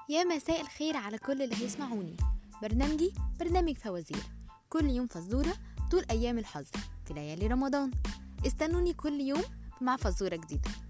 يا مساء الخير على كل اللي هيسمعوني. برنامجي برنامج فوازير، كل يوم فزورة طول أيام الحظ في ليالي رمضان. استنوني كل يوم مع فزورة جديدة.